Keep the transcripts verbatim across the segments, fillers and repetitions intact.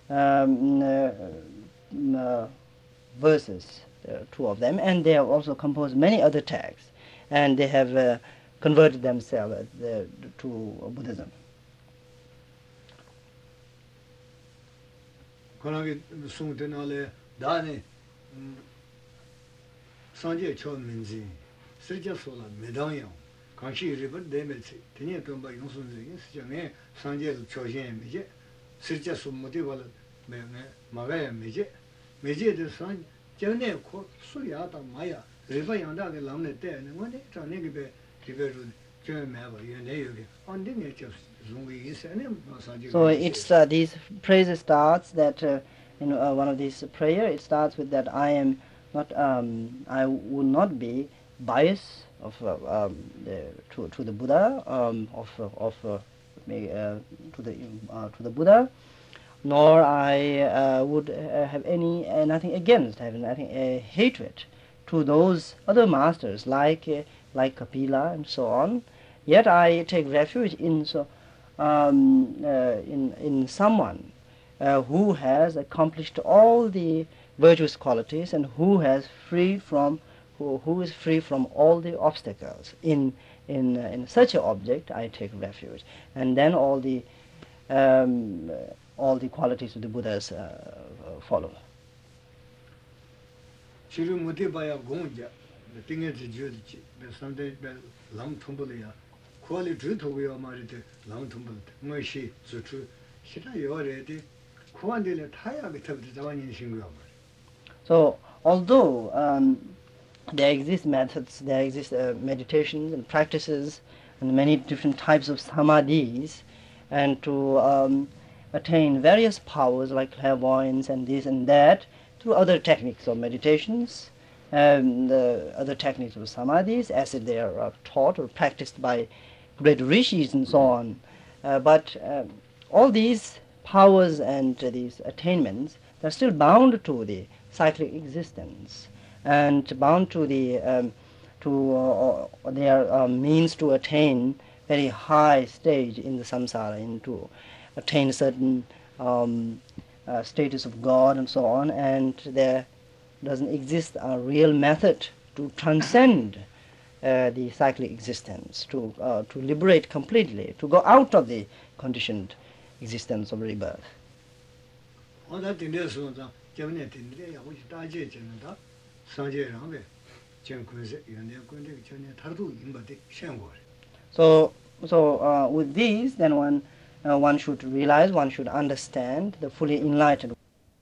um, uh, uh, verses, uh, two of them, and they have also composed many other texts, and they have uh, converted themselves uh, to Buddhism. Sanje Chol Minzi, Sirja Sola, Medang Kanshi River, Demetsi, Tenya Tomba Yonsun, Sijame, Sanje Chojan Meje, Sirja Sumotival, Magaya Meje, Meje de San, Jane Ko, Suyata Maya, River Yanda, the Lamne Day, and one day, Tranegi, River, German Mava, Yane, on the nature of Zungi is and Sanje. So it's uh, these praise starts that uh, in uh, one of these prayer, it starts with that I am not, um, I would not be biased of uh, um, the, to to the Buddha, um, of of uh, uh, to the uh, to the Buddha, nor I uh, would uh, have any uh, nothing against, having nothing uh, hatred to those other masters like uh, like Kapila and so on. Yet I take refuge in so um, uh, in in someone uh, who has accomplished all the virtuous qualities and who has freed from who, who is free from all the obstacles. In in uh, in such an object I take refuge, and then all the um, uh, all the qualities of the Buddhas uh, follow. Chiru Mutibaya Gonja, the thing is the Sunday Lam Tumbulia, Quali Drutovia Marite, Lam Tumbul, Moshi, Sutru, Shita Yoreti, Quandila Taya Vitab the Zawani Shingra. So, although um, there exist methods, there exist uh, meditations and practices and many different types of samadhis, and to um, attain various powers like clairvoyance and this and that through other techniques of meditations, um, the other techniques of samadhis, as they are uh, taught or practiced by great rishis and so on. Uh, but uh, all these powers and uh, these attainments, they're still bound to the cyclic existence and bound to the um, to uh, their uh, means to attain very high stage in the samsara, and to attain certain um, uh, status of God and so on, and there doesn't exist a real method to transcend uh, the cyclic existence, to uh, to liberate completely, to go out of the conditioned existence of rebirth. So, so uh, with these, then one uh, one should realize, one should understand the fully enlightened.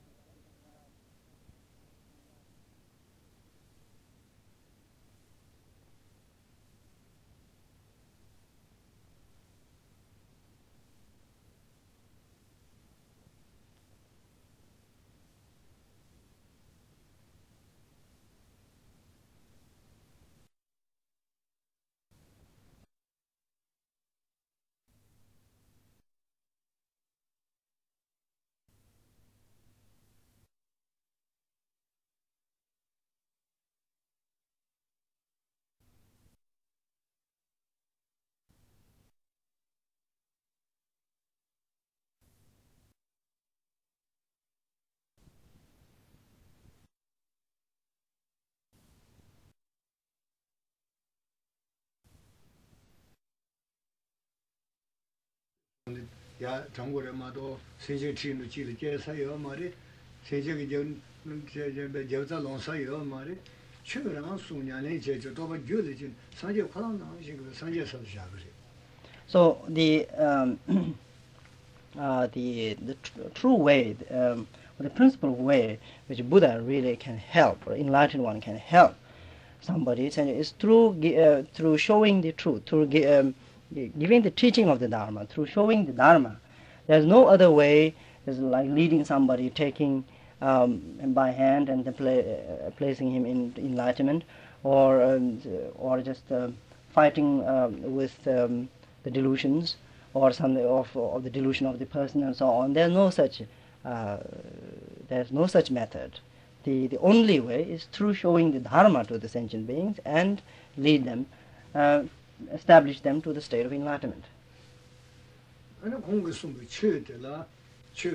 야 정고래 마도 세제 치는 지를 제사요 말이 세제기 전 저저 농사요 말이 최근에 수년에 제주도 봐 줄이진 산재 관한 나오신 산재서 시작을. So the um, uh, the the tr- true way, um, or the principal way which Buddha really can help, or enlightened one can help somebody, is through uh, through showing the truth, through um, giving the teaching of the Dharma, through showing the Dharma. There's no other way. It's like leading somebody, taking um, him by hand and then pla- uh, placing him in enlightenment, or um, or just uh, fighting um, with um, the delusions, or something of, of the delusion of the person and so on. There's no such uh, there's no such method. The the only way is through showing the Dharma to the sentient beings and lead them. Uh, establish them to the state of enlightenment. 아니 공부 숨을 쳐들라 쳐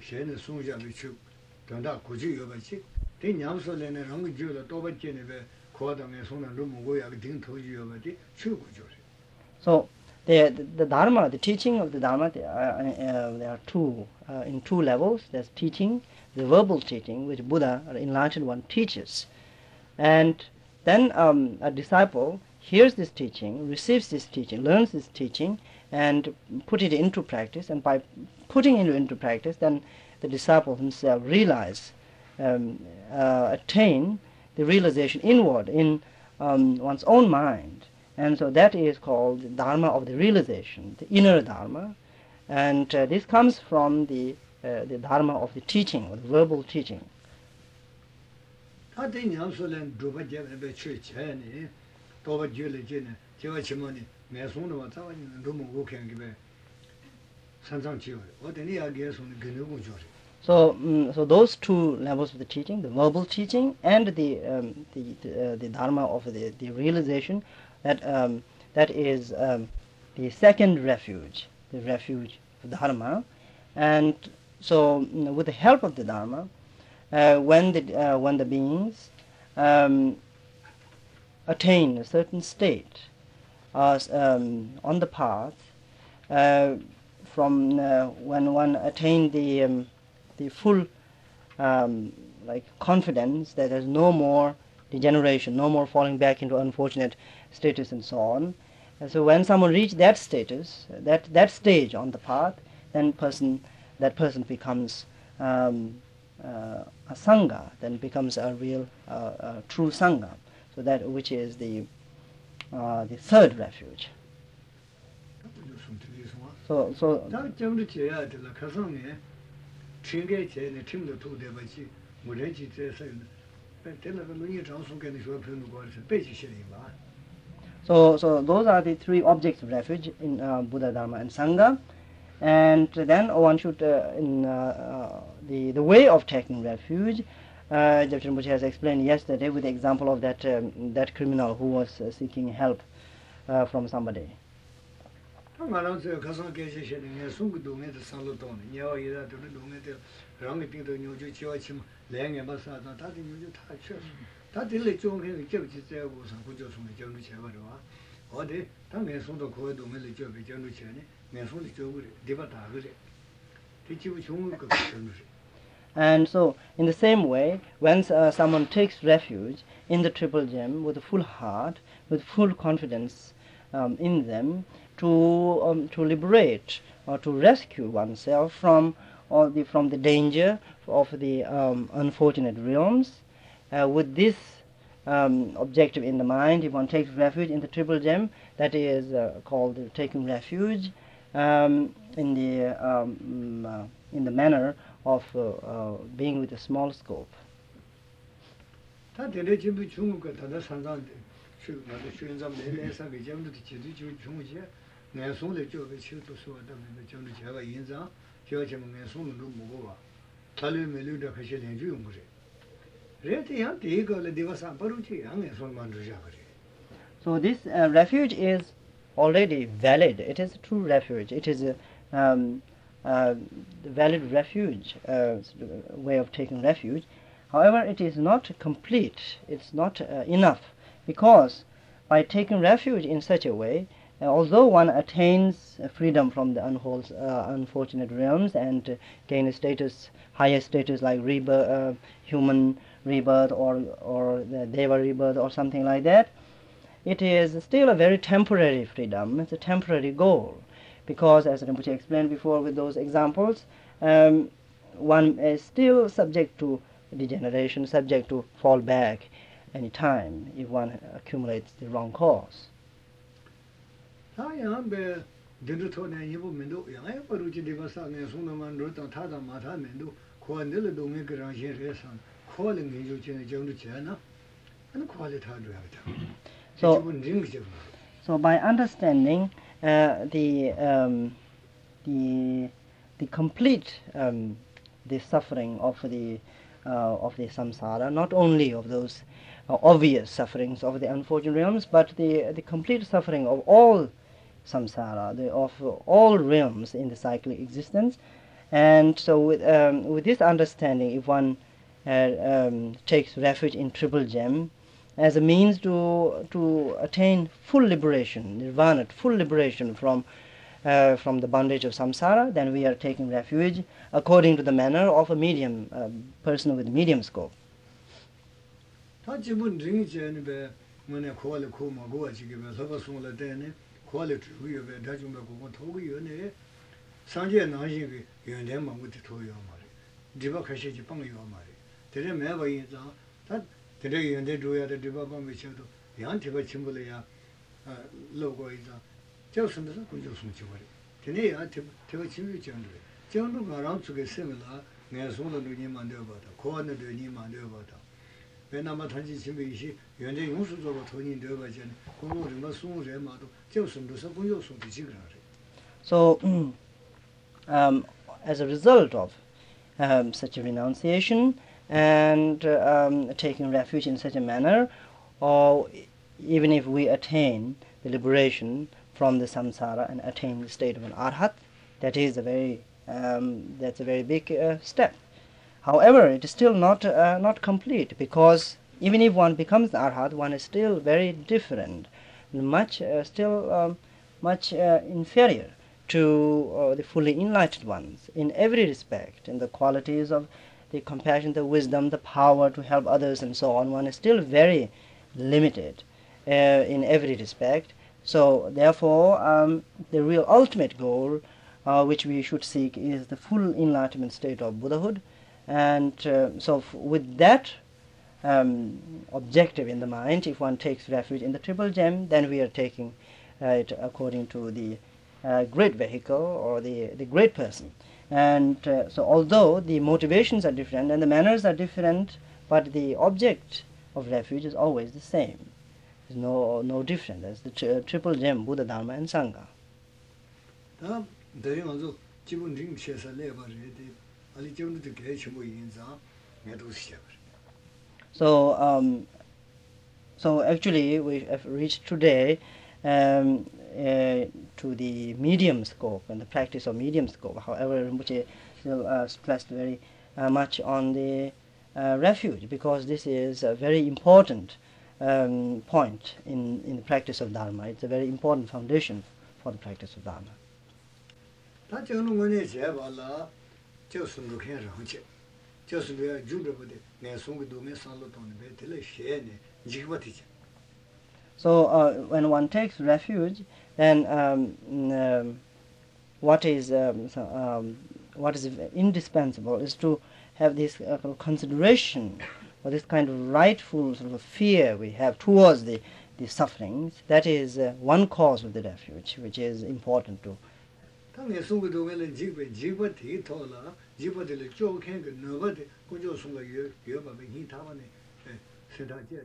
shene sungja bi chu danda kuji yo ba chi de nyam so le ne rang ju la to ba che ne be ko da me song na lu mu go ya ding to ji yo ba di chu ku jo. So the, the the Dharma, the teaching of the Dharma, there are, uh, there are two uh, in two levels. There's teaching, the verbal teaching, which Buddha, or enlightened one, teaches, and then um, a disciple hears this teaching, receives this teaching, learns this teaching, and put it into practice. And by putting it into practice, then the disciple himself realize, um, uh, attain the realization inward in um, one's own mind. And so that is called the Dharma of the realization, the inner Dharma. And uh, this comes from the, uh, the Dharma of the teaching, or the verbal teaching. Ta de nyam so le do ba je be chu che ne to ba ju le je ne je wa chi mo ni me song de wa ta wa ni do mo go ken ge be san zang ji yo wo de ni ya ge so ni ge ne go jo. So, um, so those two levels of the teaching, the verbal teaching and the um, the the, uh, the Dharma of the, the realization, that um, that is um, the second refuge, the refuge of Dharma. And so, you know, with the help of the Dharma, uh, when the uh, when the beings um, attain a certain state uh, um, on the path, uh, from uh, when one attained the um, the full um, like confidence that there's no more degeneration, no more falling back into unfortunate status and so on. And so when someone reaches that status, that that stage on the path, then person that person becomes um, uh, a sangha, then becomes a real, uh, a true sangha. So that which is the uh, the third refuge. So so. So, so those are the three objects of refuge in uh, Buddha, Dharma, and Sangha. And then one should, uh, in uh, uh, the the way of taking refuge, uh, Jabchen Rinpoche has explained yesterday with the example of that um, that criminal who was uh, seeking help uh, from somebody. And so, in the same way, when uh, someone takes refuge in the Triple Gem with a full heart, with full confidence um, in them, to um, to liberate or to rescue oneself from or the from the danger of the um, unfortunate realms, uh, with this um, objective in the mind, if one takes refuge in the Triple Gem, that is uh, called uh, taking refuge um, in the um, uh, in the manner of uh, uh, being with a small scope. So this uh, refuge is already valid. It is a true refuge. It is a um, uh, valid refuge, uh, way of taking refuge. However, it is not complete. It's not uh, enough, because by taking refuge in such a way, uh, although one attains uh, freedom from the unwholes, uh, unfortunate realms and uh, gain a status, higher status like rebirth, uh, human rebirth or or the Deva rebirth or something like that, it is still a very temporary freedom. It's a temporary goal, because, as Rinpoche explained before with those examples, um, one is still subject to degeneration, subject to fall back any time if one accumulates the wrong cause. So, so by understanding uh, the um, the the complete um, the suffering of the uh, of the samsara, not only of those uh, obvious sufferings of the unfortunate realms, but the the complete suffering of all samsara, the, of uh, all realms in the cyclic existence, And so with, um, with this understanding, if one uh, um, takes refuge in Triple Gem as a means to, to attain full liberation, nirvana, full liberation from, uh, from the bondage of samsara, then we are taking refuge according to the manner of a medium, uh, person with medium scope. 다 지분 링이제는 배 뭐네 코알 코마 고아 지기면 서버 송을 때네 코알 주요 배 다좀 배 토고 요네 상제 나시기 연대 망고티 토요 말이 디바 카시지 빵요 말이 되게 매바 인자 다 되게 연대 줘야 돼 디바 빵 미쳐도 양 디바 침불이야 아 로고 이자 저선도 군조 숨지 버리 되네 야 디바 침이 정도 정도 가랑 쪽에 세면라 내 손으로 니만 되어 봐다 코안도 니만 되어 봐다 왜냐면 단지 진비시 연대 용수적으로 돈이 되어 봐잖아 공부를 뭐 수무제 마도 저선도서 군조 숨지 지그라 So um, as a result of um, such a renunciation and uh, um, taking refuge in such a manner, or even if we attain the liberation from the samsara and attain the state of an arhat, that is a very um, that's a very big uh, step. However, it is still not uh, not complete, because even if one becomes an arhat, one is still very different, much uh, still um, much uh, inferior to uh, the fully enlightened ones in every respect, in the qualities of the compassion, the wisdom, the power to help others, and so on. One is still very limited uh, in every respect. So therefore, um, the real ultimate goal uh, which we should seek is the full enlightenment state of Buddhahood. And uh, so f- with that um, objective in the mind, if one takes refuge in the Triple Gem, then we are taking uh, it according to the uh, great vehicle or the, the great person. And uh, so although the motivations are different and the manners are different, but the object of refuge is always the same. There's no, no different. That's the tri- Triple Gem, Buddha, Dharma and Sangha. 다 대리 먼저 기본 링 셔서 내버려야 아니 정도 되게 뭐 인자 내도 시작. So um, so actually we have reached today um, uh, to the medium scope and the practice of medium scope. However, Rinpoche still uh, stressed very uh, much on the uh, refuge, because this is a very important um, point in, in the practice of Dharma. It's a very important foundation for the practice of Dharma. 다 저는 거네 제발라 저순도 괜찮지. 저순도야 주르버데 내 손도 도메 살로 돈에 베텔레 셰네 지그바티지. So uh, when one takes refuge, then um, um, what is um, so, um, what is indispensable is to have this uh, consideration, or this kind of rightful sort of fear we have towards the, the sufferings. That is uh, one cause of the refuge, which is important to. 당내 손도 도메는 지그 지그바티 토라 지그바티를 쪼캔 그 너버데 고조 손가 여 여바베 히타바네 세다제나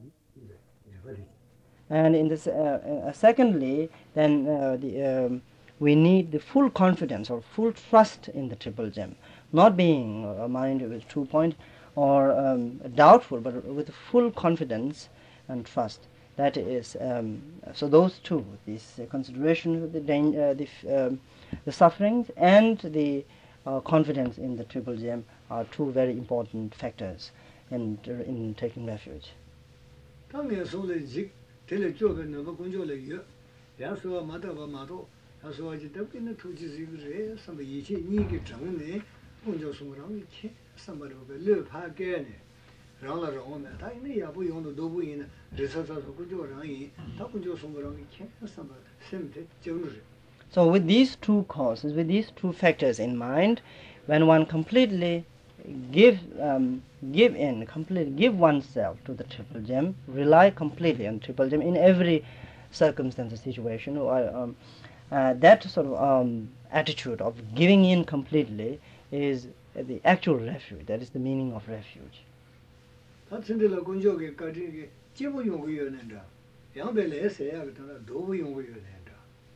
지그바티. And in this, uh, uh, secondly, then uh, the, um, we need the full confidence or full trust in the Triple Gem, not being a mind with two point or um, doubtful, but with full confidence and trust. That is, um, so those two, this uh, consideration of the, danger, uh, the, um, the sufferings and the uh, confidence in the Triple Gem are two very important factors in, in taking refuge. 당내 손을 지 텔레 쪽에 너버 군조를 여 야수와 마다바 마도 야수와 지답기는 투지지 그래 선배 이제 니게 정네 군조 손으로 이렇게 선배로가 르파게네 라라로 오면 다 이네 야부 용도 도부이네 리서서서 군조랑이 다 군조 손으로 이렇게 선배 셈데 정르. So with these two causes, with these two factors in mind, when one completely give um, give in, completely give oneself to the Triple Gem, rely completely on Triple Gem in every circumstance or situation, or um, uh, that sort of um, attitude of giving in completely is the actual refuge. That is the meaning of refuge. 다친들라 군조게 가지게 지부 용구여낸다. 양벨에서야 그러나 도부 용구여낸다.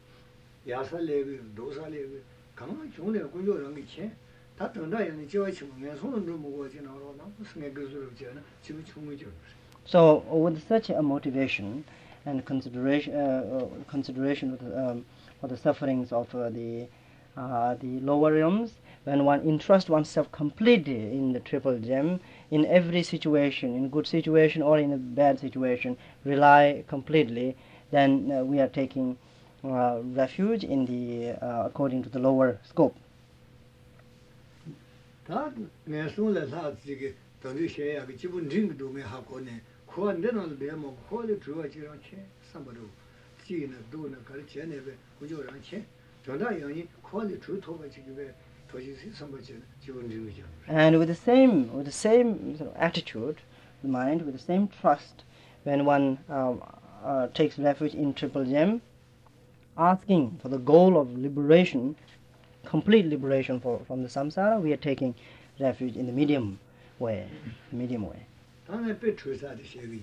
야살레고 도살레고 강한 좋네 군조랑 이체 다 등다야는 지와치면 손은 좀 먹어 지나로 나 무슨 게 그러지나 지금 총무죠. So with such a motivation and consideration uh, consideration of the, um, for the sufferings of uh, the uh, the lower realms, when one entrusts oneself completely in the triple gem, in every situation, in good situation or in a bad situation, rely completely, then uh, we are taking uh, refuge in the uh, according to the lower scope. 다 내송을 사지게 돈이 셔야 그 기본 링도 매 하고네 코안데는 배모 코를 주어지랑 체 삼바로 지는 도는 가르치네 배 구조랑 체 전다 영이 코를 주토가 지게 도시시 삼바지 기본 링이죠. And with the same with the same sort of attitude, mind, with the same trust, when one uh, uh, takes refuge in triple gem, asking for the goal of liberation, complete liberation for, from the samsara, we are taking refuge in the medium way, medium way. 다음에 배 tru사의 시비.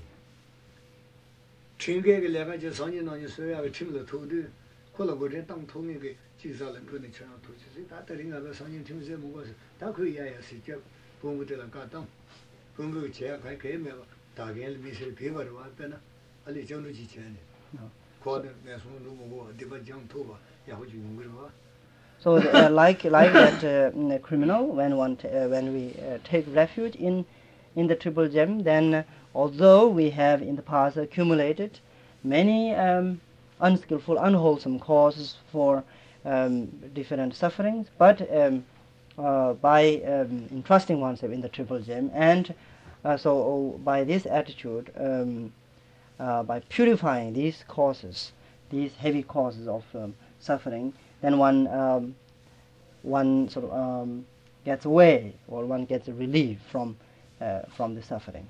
튕게게 내가 저 선인원이 소야가 팀을 도도 콜라보레 땅 통에게 지사는 그네 처럼 도시지 다 들인가 그 선인 팀세 먹어서 다 그야야 시켜 공부들 가당 공부 제가 갈 거면 다게 미실 비버로 왔잖아. 알리 정도 지체네. 코드 내서 누구 디바장 토바 야호지 공부로 So uh, like like that uh, criminal, when one t- uh, when we uh, take refuge in in the triple gem, then uh, although we have in the past accumulated many um, unskillful, unwholesome causes for um, different sufferings, but um, uh, by um, entrusting oneself in the triple gem, and uh, so oh, by this attitude, um, uh, by purifying these causes, these heavy causes of um, suffering, then one um, one sort of um, gets away, or one gets a relief from uh, from the suffering.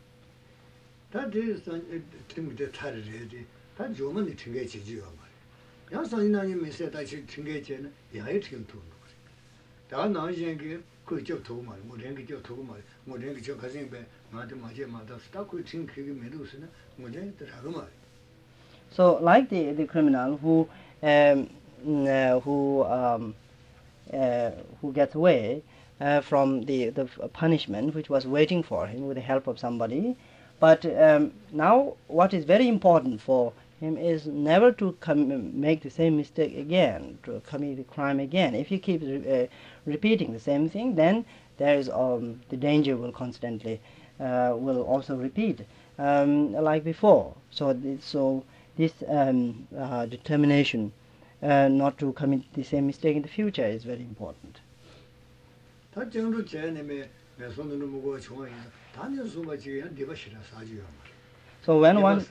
다 대선 팀들 타르지 다 조만이 튕게 지지요 말. 야선이나니 메세 다시 튕게 제는 야에 튕 도는 거지. 다 나이게 그저 도고 말, 뭐 랭게 저 도고 말, 뭐 랭게 저 가진 배 마도 마제 마다 스타코 튕게 메도스나 뭐 랭게 들하고 말. So like the the criminal who um, uh, who um, uh, who gets away uh, from the the punishment which was waiting for him with the help of somebody, but um, now what is very important for him is never to com- make the same mistake again, to commit the crime again. If he keeps re- uh, repeating the same thing, then there is um, the danger will constantly uh, will also repeat um, like before. So th- so this um, uh, determination uh, not to commit the same mistake in the future is very important. 다 정도 제네메 메손으로 먹고 좋아해. 다는 소마지야 네가 싫어 사지요 말. So when one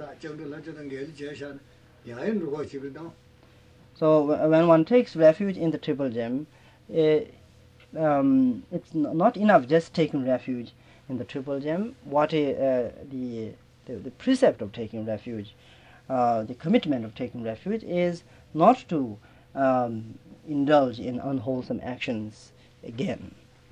so when one takes refuge in the triple gem, uh, um, it's n- not enough just taking refuge in the triple gem. What is, uh, the, the the precept of taking refuge, uh, the commitment of taking refuge is not to um, indulge in unwholesome actions again.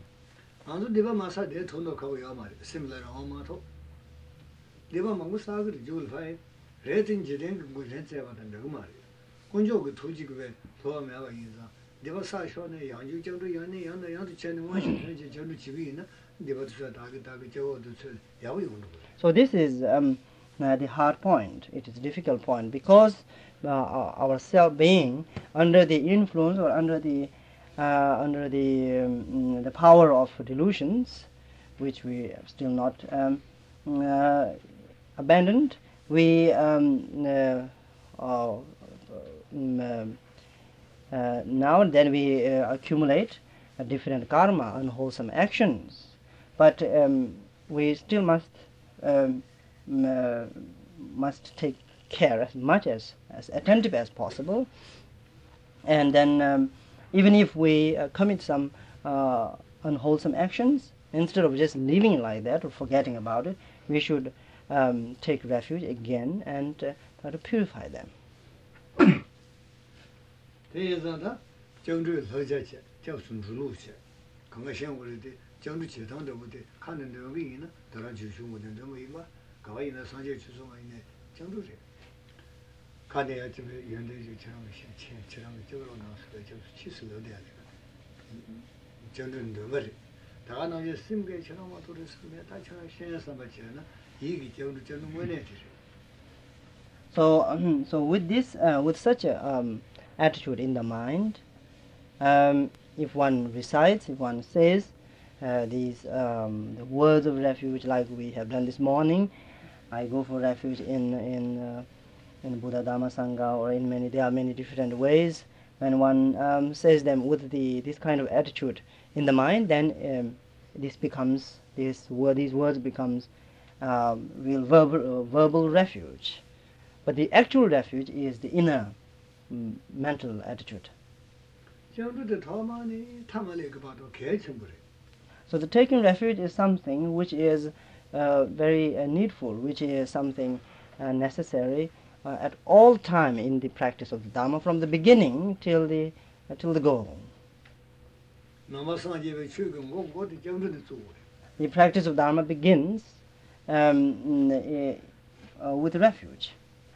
Deva mangu sagri jul fai retin jiden gu rense wa dan de ma kunjo gu tuji gu be to me wa yin sa deva sa sho ne yang ju jang du yang ne yang de yang de chen ne wa shi ne je jang du chi bi na deva tu sa da ge da ge jo du se ya wi gu. So this is um, uh, the hard point. It is a difficult point because uh, our self being under the influence or under the uh, under the um, the power of delusions, which we have still not um, uh, abandoned, we um, uh, uh, um, uh, now and then we uh, accumulate a different karma, unwholesome actions, but um, we still must um, uh, must take care as much as, as attentive as possible, and then um, even if we uh, commit some uh, unwholesome actions, instead of just leaving it like that or forgetting about it, we should um, take refuge again and uh, try to purify them. So, um, so with this, uh, with such a um, attitude in the mind, um, if one recites, if one says uh, these um, the words of refuge, like we have done this morning, I go for refuge in in uh, in Buddha, Dhamma, Sangha, or in many, there are many different ways. When one um, says them with the this kind of attitude in the mind, then um, this becomes this word, these words becomes um, real verbal uh, verbal refuge. But the actual refuge is the inner mm, mental attitude. So the taking refuge is something which is uh, very uh, needful, which is something uh, necessary uh, at all time in the practice of the Dhamma, from the beginning till the uh, till the goal. The practice of Dharma begins um, uh, with refuge.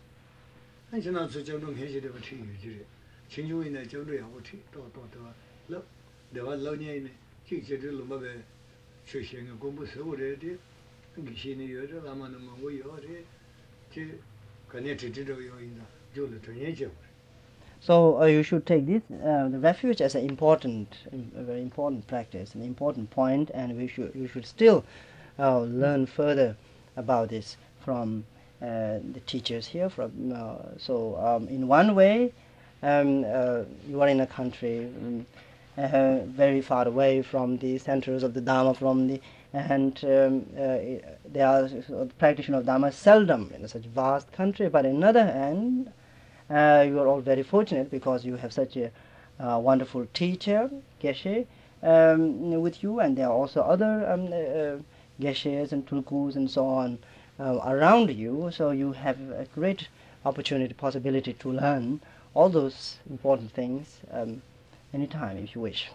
So uh, you should take this uh, the refuge as an important, a very important practice, an important point, and we should you should still uh, learn further about this from uh, the teachers here. From uh, so um, in one way, um, uh, you are in a country um, uh, very far away from the centers of the Dhamma, from the and um, uh, there are uh, the practitioner of Dhamma seldom in such vast country. But on the other hand, uh, you are all very fortunate because you have such a uh, wonderful teacher, Geshe, um, with you, and there are also other um, uh, Geshes and Tulkus and so on uh, around you. So you have a great opportunity, possibility to learn all those important things um, anytime if you wish.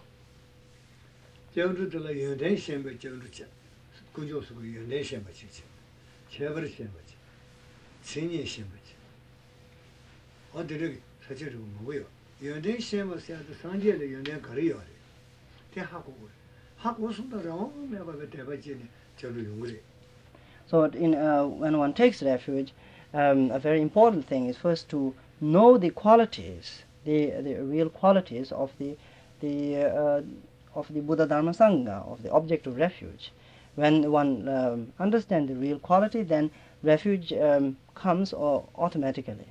So in, uh, when one takes refuge, um, a very important thing is first to know the qualities, the, the real qualities of the, the, uh, of the Buddha Dharma Sangha, of the object of refuge. When one um, understands the real quality, then refuge um, comes uh, automatically.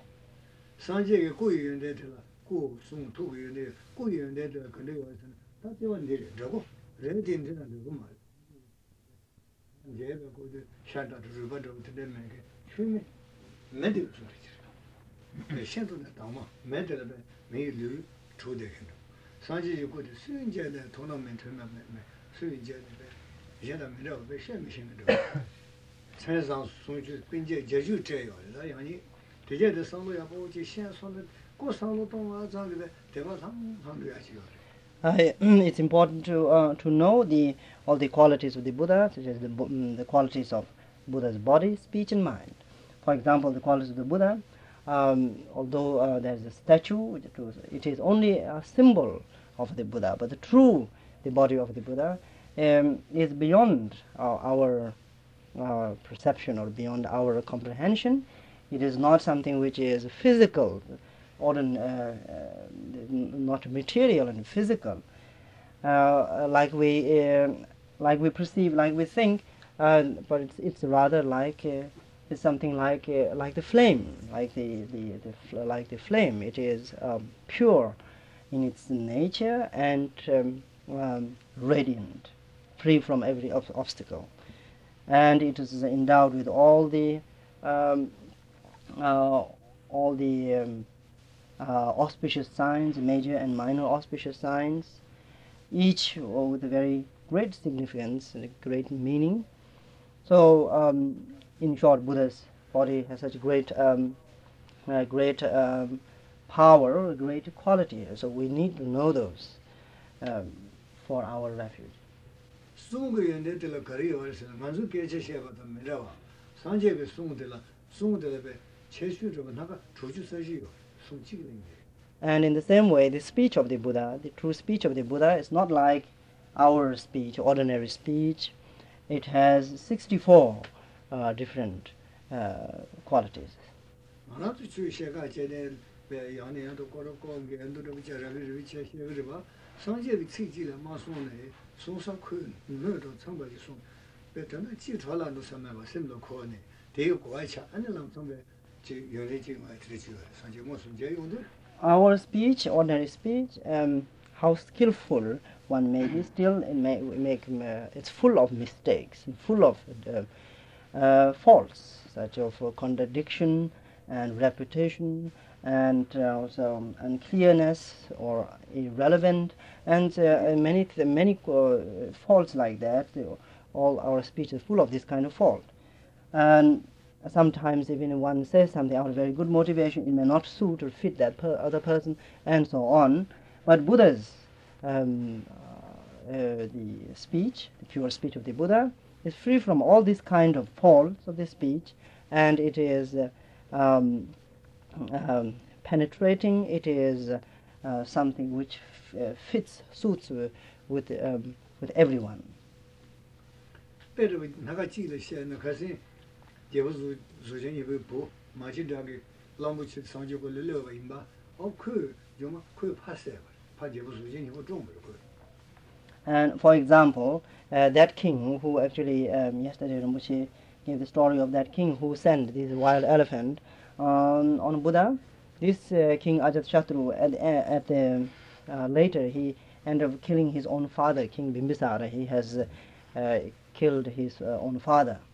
Uh, it's important to uh, to know the all the qualities of the Buddha, such as the um, the qualities of Buddha's body, speech, and mind. For example, the qualities of the Buddha, um, although uh, there's a statue, it is only a symbol of the Buddha, but the true the body of the Buddha um, is beyond uh, our uh, perception or beyond our comprehension. It is not something which is physical, or uh, uh, not material and physical, uh, like we uh, like we perceive, like we think, uh, but it's it's rather like uh, it's something like uh, like the flame, like the the, the fl like the flame. It is um, pure in its nature and um, um, radiant, free from every ob obstacle, and it is endowed with all the um, uh, all the um, uh, auspicious signs, major and minor auspicious signs, each with a very great significance and a great meaning. So, um, in short, Buddha's body has such great, um, uh, great um, power, great quality. So we need to know those um, for our refuge. And in the same way, the speech of the Buddha, the true speech of the Buddha, is not like our speech, ordinary speech. It has sixty-four uh, different uh, qualities. 상제비 치지를 마송네 송상 큰 너도 참바지 송 배터는 지털라도 삼아봐 셈도 코네 대요 고아차 안을랑 선배 지 연례지 많이 들으지 상제 무슨 제 용도 Our speech, ordinary speech, um, how skillful one may be, still it may make uh, it's full of mistakes, full of uh, uh, faults, such of uh, contradiction and repetition, and uh, also unclearness or irrelevant, and uh, many th- many uh, faults like that. All our speech is full of this kind of fault, and sometimes even one says something out of very good motivation, it may not suit or fit that per other person, and so on. But Buddha's um, uh, uh, the speech, the pure speech of the Buddha, is free from all these kind of faults of the speech, and it is uh, um, um, penetrating. It is uh, uh, something which f- uh, fits, suits uh, with um, with everyone. 배를 나가 찌를 시에는 가서 제부수 수전이 보 마지막에 람부치 상주고 르르가 임바 어그 좀 그 파세 파 제부수 수전이 좀 그 And for example, uh, that king who actually, um, yesterday Rinpoche gave the story of that king who sent this wild elephant on, on Buddha. This uh, king Ajatashatru, at, at the, uh, later he ended up killing his own father, King Bimbisara. He has uh, uh, killed his uh, own father.